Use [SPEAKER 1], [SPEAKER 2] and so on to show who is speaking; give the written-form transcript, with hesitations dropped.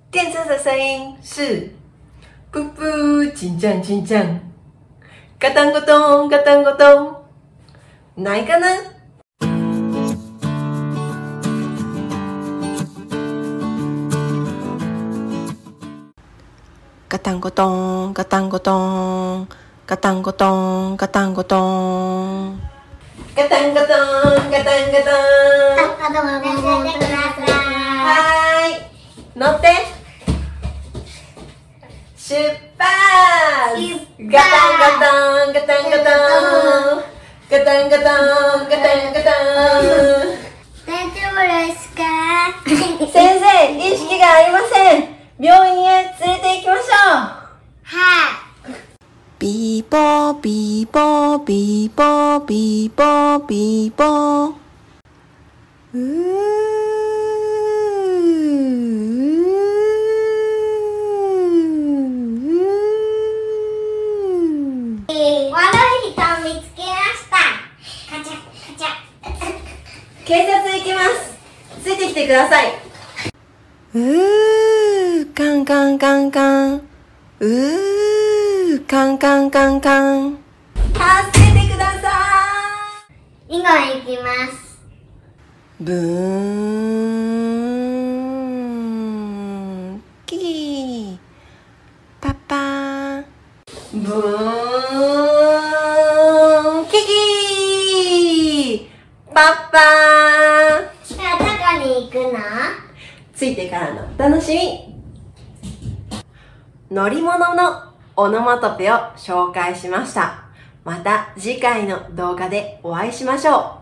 [SPEAKER 1] 电车的声音是噗噗，紧张紧张，嘎当咕咚，嘎当咕咚，哪一个呢？嘎当咕咚，嘎当咕咚，嘎当咕咚，嘎当咕咚，嘎当咕咚，嘎当咕咚。はい、乗って。出発。ガタンガタンガタンガタンガタンガタンガタンガタン。
[SPEAKER 2] 大丈夫ですか？
[SPEAKER 1] 先生、意識がありません。病院へ連れて行きましょう。
[SPEAKER 2] はい。
[SPEAKER 1] ビーボービーボービーボービーボービーボー。
[SPEAKER 2] 悪い人を見つけました。カチャカチャ。
[SPEAKER 1] 警察行きます。ついてきてください。カンカンカンカン。カンカンカンカン。助けてくださ
[SPEAKER 2] 以後行きます。
[SPEAKER 1] い。ブーン。キー。パパー。ブーン。キキー。パパー。
[SPEAKER 2] じゃあどこに行くの？
[SPEAKER 1] ついてからのお楽しみ。乗り物のオノマトペを紹介しました。また次回の動画でお会いしましょう。